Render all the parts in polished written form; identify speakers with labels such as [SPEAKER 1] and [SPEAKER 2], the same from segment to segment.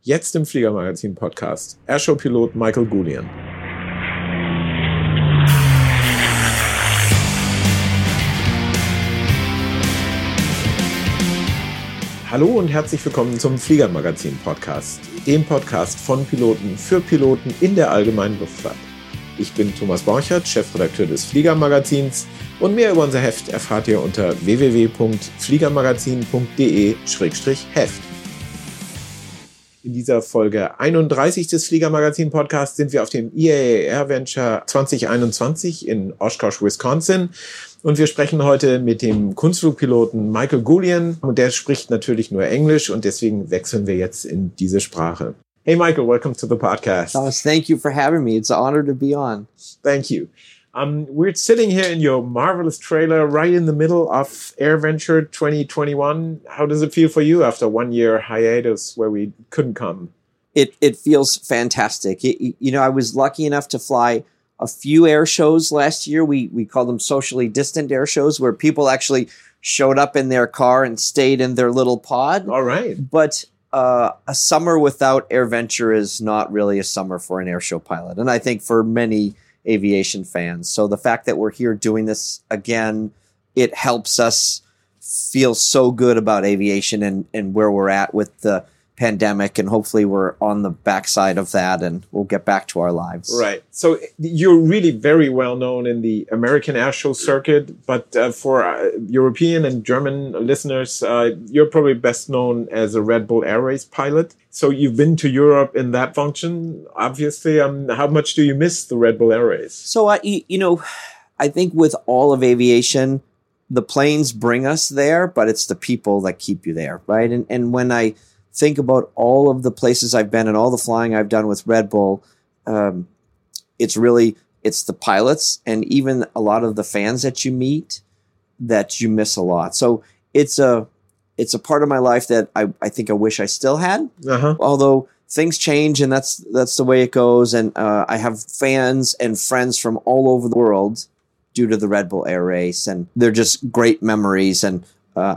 [SPEAKER 1] Jetzt im Fliegermagazin-Podcast. Airshow-Pilot Michael Goulian. Hallo und herzlich willkommen zum Fliegermagazin-Podcast, dem Podcast von Piloten für Piloten in der allgemeinen Luftfahrt. Ich bin Thomas Borchert, Chefredakteur des Fliegermagazins, und mehr über unser Heft erfahrt ihr unter www.fliegermagazin.de/Heft. In dieser Folge 31 des Fliegermagazin-Podcasts sind wir auf dem IAA AirVenture 2021 in Oshkosh, Wisconsin. Und wir sprechen heute mit dem Kunstflugpiloten Michael Goulian. Und der spricht natürlich nur Englisch und deswegen wechseln wir jetzt in diese Sprache. Hey, Michael, welcome to the podcast.
[SPEAKER 2] Thomas, thank you for having me. It's an honor to be on.
[SPEAKER 1] Thank you. We're sitting here in your marvelous trailer right in the middle of AirVenture 2021. How does it feel for you after 1 year hiatus where we couldn't come?
[SPEAKER 2] It feels fantastic. I was lucky enough to fly a few air shows last year. We call them socially distant air shows, where people actually showed up in their car and stayed in their little pod.
[SPEAKER 1] All right.
[SPEAKER 2] But a summer without AirVenture is not really a summer for an airshow pilot. And I think for many aviation fans. So the fact that we're here doing this again, it helps us feel so good about aviation and where we're at with the pandemic. And hopefully we're on the backside of that and we'll get back to our lives.
[SPEAKER 1] Right. So you're really very well known in the American airshow circuit, but for European and German listeners, you're probably best known as a Red Bull Air Race pilot. So you've been to Europe in that function, obviously. How much do you miss the Red Bull Air Race?
[SPEAKER 2] So, I think with all of aviation, the planes bring us there, but it's the people that keep you there, right? And when I think about all of the places I've been and all the flying I've done with Red Bull, it's the pilots and even a lot of the fans that you meet that you miss a lot. So it's a part of my life that I think I wish I still had. Uh-huh. Although things change and that's the way it goes. And I have fans and friends from all over the world due to the Red Bull Air Race, and they're just great memories. And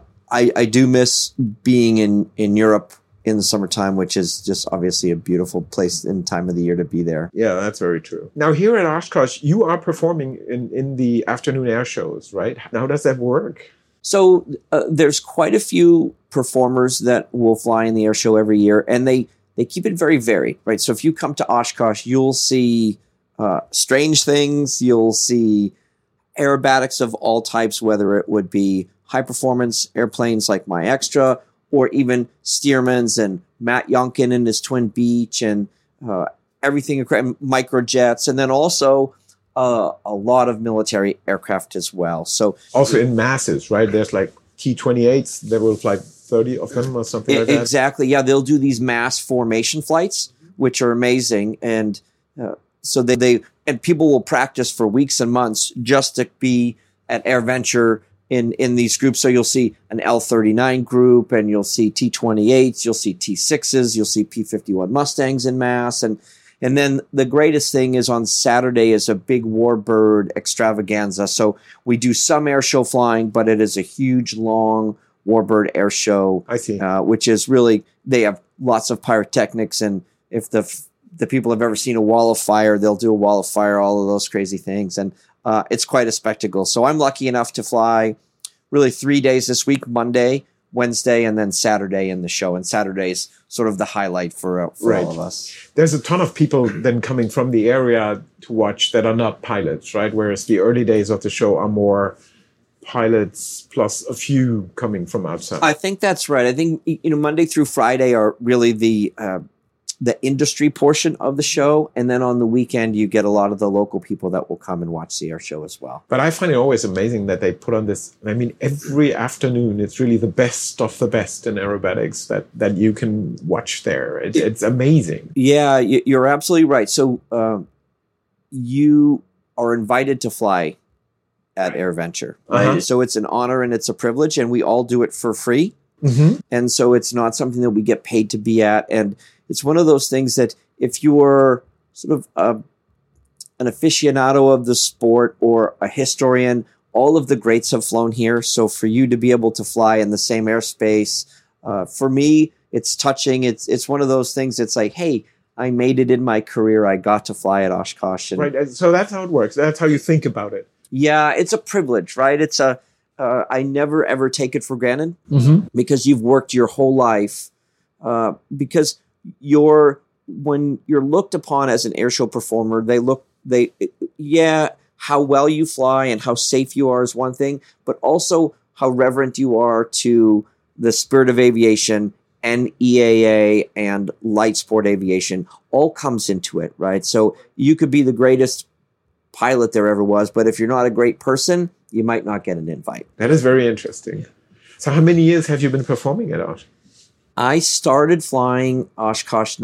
[SPEAKER 2] I do miss being in Europe in the summertime, which is just obviously a beautiful place and time of the year to be there.
[SPEAKER 1] Yeah, that's very true. Now here at Oshkosh, you are performing in the afternoon air shows, right? How does that work?
[SPEAKER 2] So there's quite a few performers that will fly in the air show every year, and they keep it very varied, right? So if you come to Oshkosh, you'll see strange things, you'll see aerobatics of all types, whether it would be high performance airplanes like my Extra, or even Stearman's and Matt Yonkin and his Twin Beach and everything, microjets, and then also a lot of military aircraft as well. So
[SPEAKER 1] also in masses, right? There's like T-28s. There will fly 30 of them or something like that.
[SPEAKER 2] Exactly. Yeah, they'll do these mass formation flights, which are amazing, and so they people will practice for weeks and months just to be at AirVenture in these groups. So you'll see an L-39 group, and you'll see T-28s, you'll see T-6s, you'll see P-51 Mustangs in mass. And then the greatest thing is on Saturday is a big Warbird extravaganza. So we do some air show flying, but it is a huge, long Warbird air show.
[SPEAKER 1] I see.
[SPEAKER 2] Which is really, they have lots of pyrotechnics, and if the people have ever seen a wall of fire, they'll do a wall of fire, all of those crazy things. And it's quite a spectacle. So I'm lucky enough to fly really 3 days this week, Monday, Wednesday, and then Saturday in the show. And Saturday's sort of the highlight for all of us.
[SPEAKER 1] There's a ton of people then coming from the area to watch that are not pilots, right? Whereas the early days of the show are more pilots plus a few coming from outside.
[SPEAKER 2] I think that's right. I think Monday through Friday are really the industry portion of the show. And then on the weekend, you get a lot of the local people that will come and watch the air show as well.
[SPEAKER 1] But I find it always amazing that they put on this. I mean, every afternoon, it's really the best of the best in aerobatics that you can watch there. It's amazing.
[SPEAKER 2] Yeah, you're absolutely right. So you are invited to fly at AirVenture. Right? Uh-huh. So it's an honor and it's a privilege, and we all do it for free. Mm-hmm. And so it's not something that we get paid to be at. And it's one of those things that if you're sort of an aficionado of the sport or a historian, all of the greats have flown here. So for you to be able to fly in the same airspace, for me, it's touching. It's one of those things. It's like, hey, I made it in my career. I got to fly at Oshkosh. And
[SPEAKER 1] Right. So that's how it works. That's how you think about it.
[SPEAKER 2] yeah, it's a privilege, right? It's I never ever take it for granted
[SPEAKER 1] Mm-hmm.
[SPEAKER 2] because you've worked your whole life. Because when you're looked upon as an airshow performer, how well you fly and how safe you are is one thing, but also how reverent you are to the spirit of aviation and EAA and light sport aviation all comes into it, right? So you could be the greatest pilot there ever was, but if you're not a great person, you might not get an invite.
[SPEAKER 1] That is very interesting. So how many years have you been performing at Osh?
[SPEAKER 2] I started flying Oshkosh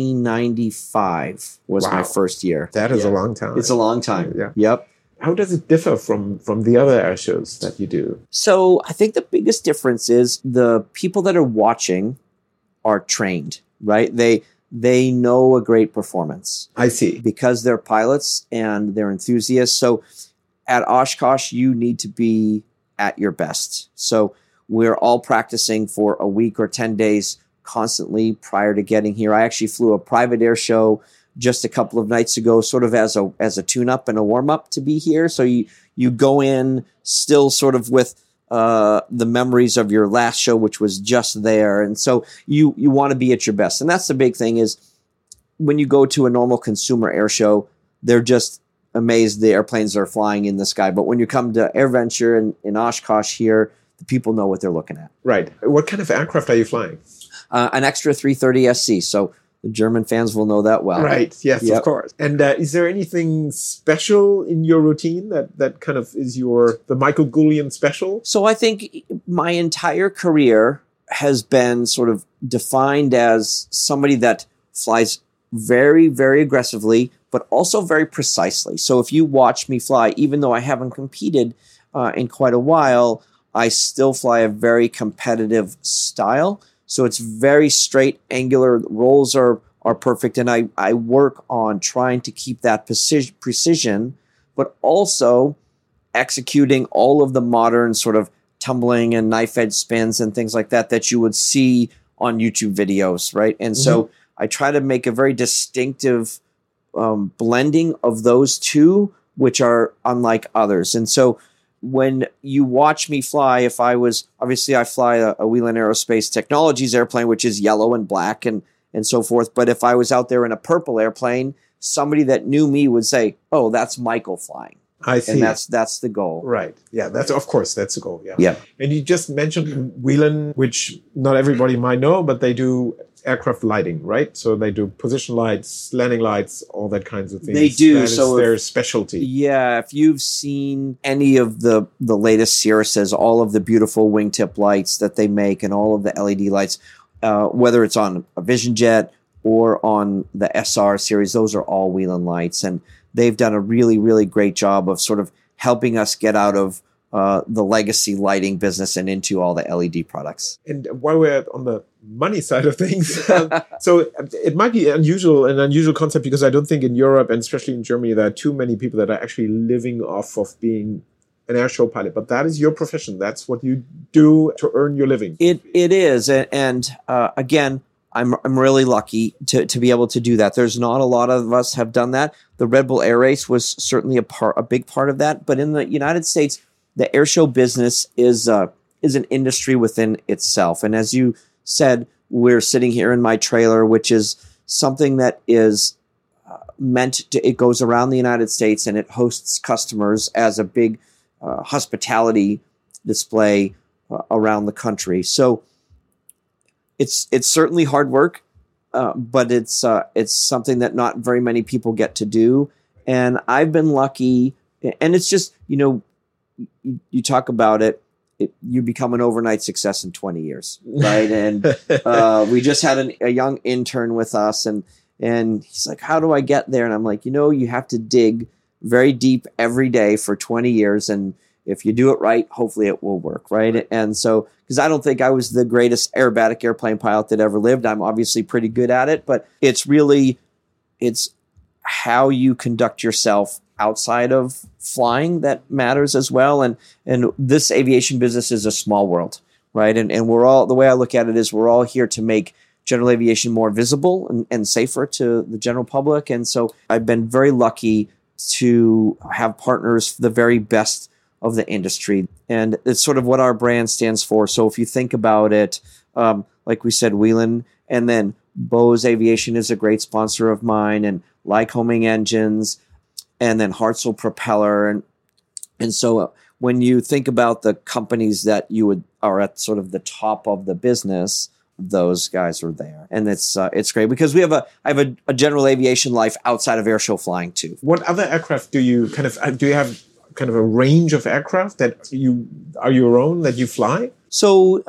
[SPEAKER 2] 1995 was my
[SPEAKER 1] Wow.
[SPEAKER 2] first year.
[SPEAKER 1] That is
[SPEAKER 2] Yeah.
[SPEAKER 1] a long time.
[SPEAKER 2] It's a long time.
[SPEAKER 1] Yeah.
[SPEAKER 2] Yep.
[SPEAKER 1] How does it differ from the other air shows that you do?
[SPEAKER 2] So I think the biggest difference is the people that are watching are trained, right? They know a great performance
[SPEAKER 1] I see.
[SPEAKER 2] because they're pilots and they're enthusiasts. So at Oshkosh, you need to be at your best. So we're all practicing for a week or 10 days constantly prior to getting here. I actually flew a private air show just a couple of nights ago, sort of as a tune-up and a warm-up to be here. So you go in still sort of with the memories of your last show, which was just there. And so you want to be at your best. And that's the big thing is when you go to a normal consumer air show, they're just amazed the airplanes are flying in the sky. But when you come to AirVenture in Oshkosh here, the people know what they're looking at.
[SPEAKER 1] Right. What kind of aircraft are you flying?
[SPEAKER 2] An extra 330 SC. So the German fans will know that well.
[SPEAKER 1] Right. Yes,
[SPEAKER 2] Yep.
[SPEAKER 1] of course. And is there anything special in your routine that kind of is the Michael Goulian special?
[SPEAKER 2] So I think my entire career has been sort of defined as somebody that flies very, very aggressively, but also very precisely. So if you watch me fly, even though I haven't competed in quite a while, I still fly a very competitive style. So it's very straight, angular. Rolls are perfect. And I work on trying to keep that precision, but also executing all of the modern sort of tumbling and knife edge spins and things like that you would see on YouTube videos, right? And so I try to make a very distinctive blending of those two, which are unlike others. And so when you watch me fly, I fly a Wheeling Aerospace Technologies airplane, which is yellow and black and so forth. But if I was out there in a purple airplane, somebody that knew me would say, "Oh, that's Michael flying."
[SPEAKER 1] I see.
[SPEAKER 2] And that's the goal.
[SPEAKER 1] Right. Yeah, that's the goal. Yeah.
[SPEAKER 2] Yeah.
[SPEAKER 1] And you just mentioned Wheeling, which not everybody might know, but they do aircraft lighting, right? So they do position lights, landing lights, all that kinds of things.
[SPEAKER 2] They do.
[SPEAKER 1] That is their specialty.
[SPEAKER 2] Yeah, if you've seen any of the latest Cirruses, all of the beautiful wingtip lights that they make and all of the LED lights, whether it's on a Vision Jet or on the SR series, those are all Wheeling lights. And they've done a really, really great job of sort of helping us get out of the legacy lighting business and into all the LED products.
[SPEAKER 1] And while we're on the money side of things, so it might be an unusual concept because I don't think in Europe and especially in Germany there are too many people that are actually living off of being an airshow pilot. But that is your profession. That's what you do to earn your living.
[SPEAKER 2] It is, and again, I'm really lucky to be able to do that. There's not a lot of us have done that. The Red Bull Air Race was certainly a big part of that. But in the United States, the airshow business is an industry within itself. And as you said, we're sitting here in my trailer, which is something that is it goes around the United States and it hosts customers as a big hospitality display around the country. So it's certainly hard work, but it's something that not very many people get to do. And I've been lucky, and it's just, you talk about it, you become an overnight success in 20 years, right? And we just had a young intern with us, and he's like, "How do I get there?" And I'm like, you have to dig very deep every day for 20 years, and if you do it right, hopefully it will work, right? And so, because I don't think I was the greatest aerobatic airplane pilot that ever lived, I'm obviously pretty good at it, but it's how you conduct yourself outside of flying that matters as well. And this aviation business is a small world, right? And we're all, the way I look at it is we're all here to make general aviation more visible and safer to the general public. And so I've been very lucky to have partners, the very best of the industry. And it's sort of what our brand stands for. So if you think about it, like we said, Whelen, and then Bose Aviation is a great sponsor of mine, and Lycoming Engines, and then Hartzell Propeller. And so when you think about the companies that are at sort of the top of the business, those guys are there. And it's great because I have a general aviation life outside of airshow flying too.
[SPEAKER 1] What other aircraft do you have kind of a range of aircraft that are your own that you fly?
[SPEAKER 2] So,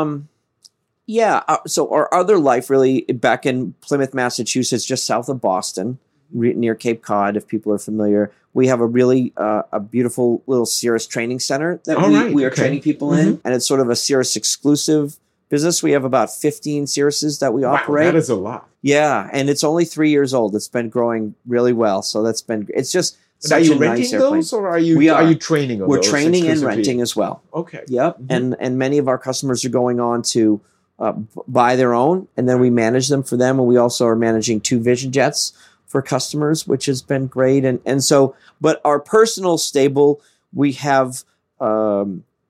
[SPEAKER 2] so our other life really back in Plymouth, Massachusetts, just south of Boston, near Cape Cod, if people are familiar, we have a really a beautiful little Cirrus training center that we are training people in. And it's sort of a Cirrus exclusive business. We have about 15 Cirruses that we operate.
[SPEAKER 1] That is a lot.
[SPEAKER 2] Yeah, and it's only 3 years old. It's been growing really well. So it's just
[SPEAKER 1] and are you renting those, or are you training on those?
[SPEAKER 2] We're training and renting as well.
[SPEAKER 1] Okay.
[SPEAKER 2] Yep. Mm-hmm. And many of our customers are going on to buy their own, and then we manage them for them. And we also are managing 2 Vision Jets for customers, which has been great. And so, but our personal stable, we have our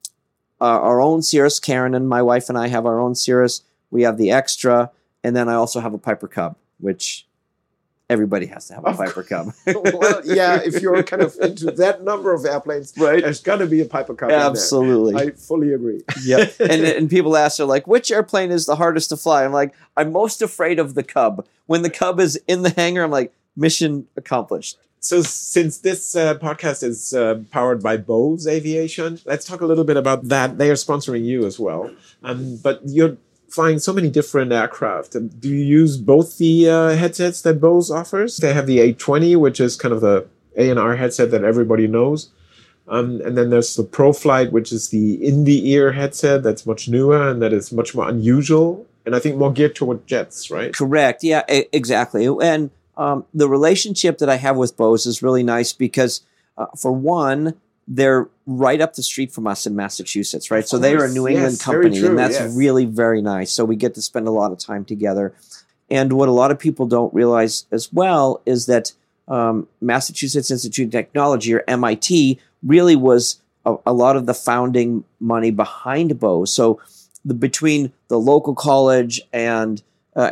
[SPEAKER 2] own Cirrus. Karen and my wife and I have our own Cirrus. We have the Extra, and then I also have a Piper Cub, which everybody has to have a Piper Cub.
[SPEAKER 1] Well, yeah, if you're kind of into that number of airplanes,
[SPEAKER 2] right,
[SPEAKER 1] there's got to be a Piper Cub.
[SPEAKER 2] Absolutely.
[SPEAKER 1] In there. I fully agree.
[SPEAKER 2] Yeah. and people ask, they're like, which airplane is the hardest to fly? I'm like, I'm most afraid of the Cub. When the Cub is in the hangar, I'm like, mission accomplished.
[SPEAKER 1] So since this podcast is powered by Bose Aviation, let's talk a little bit about that. They are sponsoring you as well. But you're flying so many different aircraft. Do you use both the headsets that Bose offers? They have the 820, which is kind of the A&R headset that everybody knows. And then there's the ProFlight, which is the in-the-ear headset that's much newer and that is much more unusual. And I think more geared toward jets, right?
[SPEAKER 2] Correct. Yeah, exactly. And the relationship that I have with Bose is really nice because, for one, they're right up the street from us in Massachusetts, right? So they are a New England company, and that's really very nice. So we get to spend a lot of time together. And what a lot of people don't realize as well is that Massachusetts Institute of Technology, or MIT, really was a lot of the founding money behind Bose. So between the local college and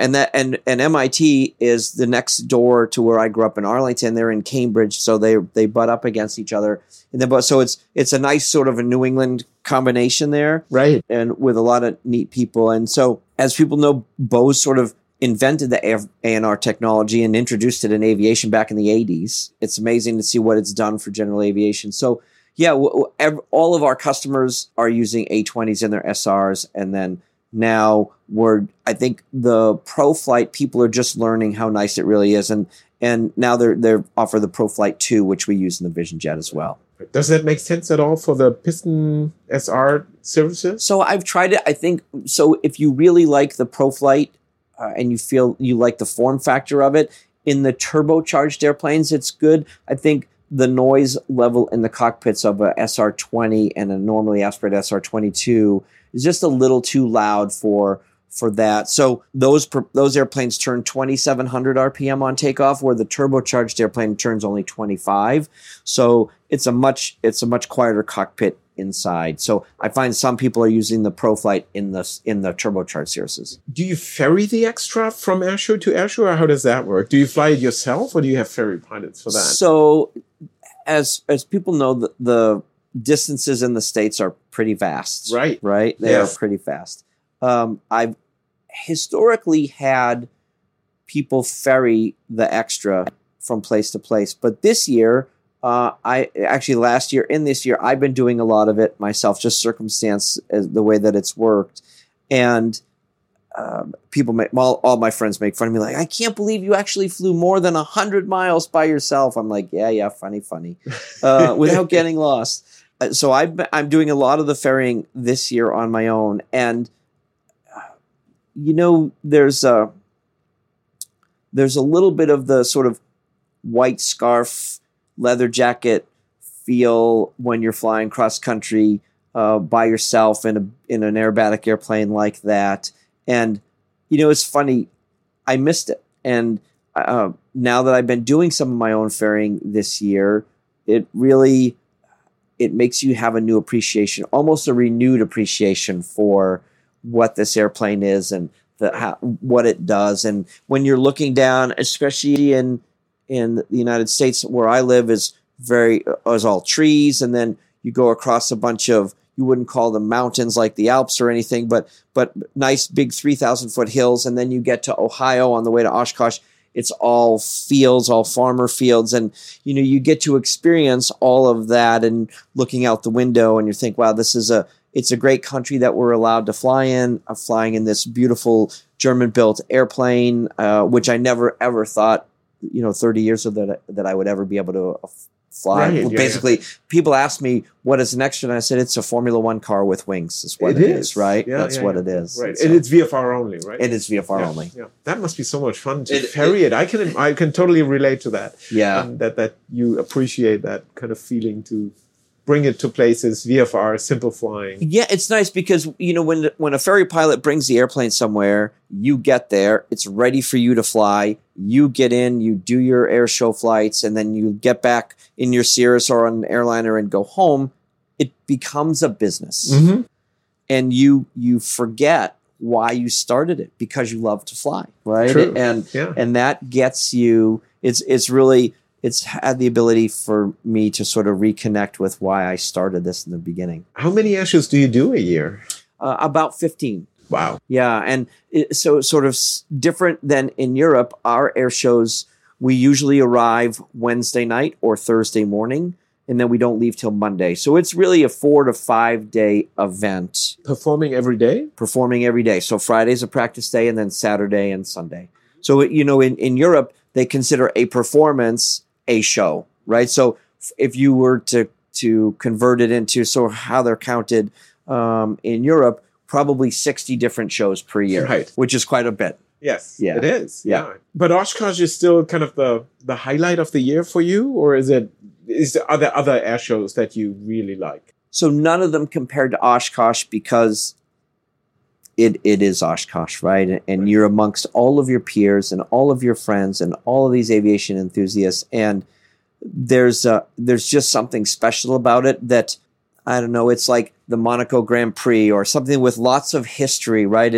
[SPEAKER 2] MIT is the next door to where I grew up in Arlington. They're in Cambridge, so they butt up against each other. So it's a nice sort of a New England combination there,
[SPEAKER 1] right? And
[SPEAKER 2] with a lot of neat people. And so, as people know, Bose sort of invented the A&R technology and introduced it in aviation back in the 80s. It's amazing to see what it's done for general aviation. So yeah, all of our customers are using A20s in their SRs, and then now I think the ProFlight people are just learning how nice it really is, and now they're offer the ProFlight 2, which we use in the Vision Jet as well.
[SPEAKER 1] Does that make sense at all for the Piston SR services?
[SPEAKER 2] So I've tried it. I think so. If you really like the ProFlight and you feel you like the form factor of it, in the turbocharged airplanes, it's good. I think the noise level in the cockpits of a SR20 and a normally aspirated SR22 is just a little too loud for that. So those airplanes turn 2,700 RPM on takeoff, where the turbocharged airplane turns only 25. So it's a much quieter cockpit inside. So I find some people are using the ProFlight in the turbocharged Cirruses.
[SPEAKER 1] Do you ferry the Extra from airshow to airshow, or how does that work? Do you fly it yourself, or do you have ferry pilots for that?
[SPEAKER 2] So as people know, the distances in the States are pretty vast.
[SPEAKER 1] Right.
[SPEAKER 2] They are pretty fast. I've historically had people ferry the Extra from place to place, but this year, last year and this year, I've been doing a lot of it myself, just circumstance the way that it's worked. And all my friends make fun of me, like, I can't believe you actually flew more than 100 miles by yourself. I'm like, yeah, funny, without getting lost. So I'm doing a lot of the ferrying this year on my own, and there's a little bit of the sort of white scarf, leather jacket feel when you're flying cross country by yourself in an aerobatic airplane like that. And, it's funny, I missed it. And now that I've been doing some of my own ferrying this year, it makes you have a new appreciation, almost a renewed appreciation for what this airplane is and what it does. And when you're looking down, especially in the United States where I live, is all trees, and then you go across a bunch of, you wouldn't call them mountains like the Alps or anything, but nice big 3,000-foot hills, and then you get to Ohio on the way to Oshkosh. It's all fields, all farmer fields, and you get to experience all of that. And looking out the window, and you think, wow, it's a great country that we're allowed to fly in. I'm flying in this beautiful German-built airplane, which I never ever thought, 30 years ago that I would ever be able to fly.
[SPEAKER 1] Right,
[SPEAKER 2] well, basically, people ask me, what is an extra? And I said, it's a Formula One car with wings. Is what it is, right?
[SPEAKER 1] Yeah,
[SPEAKER 2] That's what it is.
[SPEAKER 1] Right. And it's VFR only, right?
[SPEAKER 2] It is VFR only.
[SPEAKER 1] Yeah. That must be so much fun to ferry it. I can totally relate to that.
[SPEAKER 2] Yeah.
[SPEAKER 1] That you appreciate that kind of feeling to bring it to places, VFR, simple flying.
[SPEAKER 2] Yeah, it's nice because, when a ferry pilot brings the airplane somewhere, you get there, it's ready for you to fly. You get in, you do your air show flights, and then you get back in your Cirrus or on an airliner and go home. It becomes a business.
[SPEAKER 1] Mm-hmm.
[SPEAKER 2] And you forget why you started it, because you love to fly, right?
[SPEAKER 1] True.
[SPEAKER 2] And that gets you, it's had the ability for me to sort of reconnect with why I started this in the beginning.
[SPEAKER 1] How many air shows do you do a year?
[SPEAKER 2] About 15.
[SPEAKER 1] Wow.
[SPEAKER 2] Yeah. And so sort of different than in Europe, our air shows, we usually arrive Wednesday night or Thursday morning, and then we don't leave till Monday. So it's really a 4 to 5 day event.
[SPEAKER 1] Performing every day?
[SPEAKER 2] Performing every day. So Friday's a practice day, and then Saturday and Sunday. So, in Europe, they consider a performance a show, right? So if you were to convert it into how they're counted in Europe, probably 60 different shows per year,
[SPEAKER 1] right,
[SPEAKER 2] which is quite a bit.
[SPEAKER 1] Yes,
[SPEAKER 2] yeah.
[SPEAKER 1] It is. Yeah. But Oshkosh is still kind of the highlight of the year for you, or are there other air shows that you really like?
[SPEAKER 2] So none of them compared to Oshkosh, because it is Oshkosh, right? And you're amongst all of your peers and all of your friends and all of these aviation enthusiasts. And there's just something special about it that, I don't know, it's like the Monaco Grand Prix or something with lots of history, right?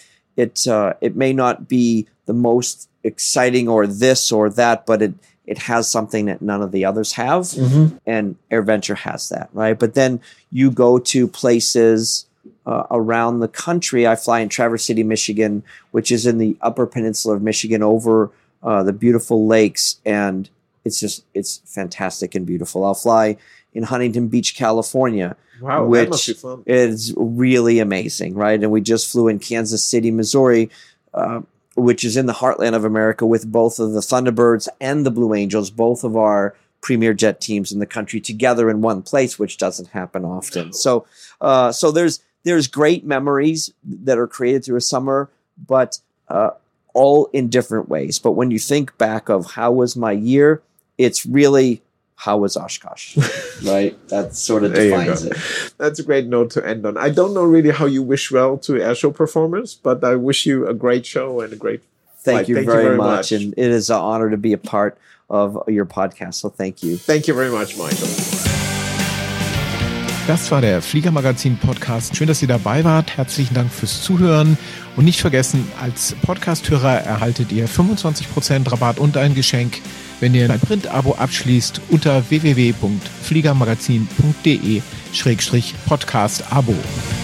[SPEAKER 2] It may not be the most exciting or this or that, but it has something that none of the others have.
[SPEAKER 1] Mm-hmm.
[SPEAKER 2] And AirVenture has that, right? But then you go to places around the country. I fly in Traverse City, Michigan, which is in the Upper Peninsula of Michigan, over the beautiful lakes, and it's fantastic and beautiful. I'll fly in Huntington Beach, California.
[SPEAKER 1] Wow,
[SPEAKER 2] which
[SPEAKER 1] that must be fun.
[SPEAKER 2] Is really amazing, right? And we just flew in Kansas City, Missouri, which is in the heartland of America, with both of the Thunderbirds and the Blue Angels, both of our premier jet teams in the country, together in one place, which doesn't happen often. No. So there's great memories that are created through a summer, but all in different ways. But when you think back of how was my year, it's really, how was Oshkosh, right? That sort of defines it.
[SPEAKER 1] That's a great note to end on. I don't know really how you wish well to airshow performers, but I wish you a great show and a great flight.
[SPEAKER 2] Thank you very much. And it is an honor to be a part of your podcast. So thank you.
[SPEAKER 1] Thank you very much, Michael.
[SPEAKER 3] Das war der Fliegermagazin-Podcast. Schön, dass ihr dabei wart. Herzlichen Dank fürs Zuhören. Und nicht vergessen, als Podcast-Hörer erhaltet ihr 25% Rabatt und ein Geschenk, wenn ihr ein Print-Abo abschließt unter www.fliegermagazin.de/podcast-Abo.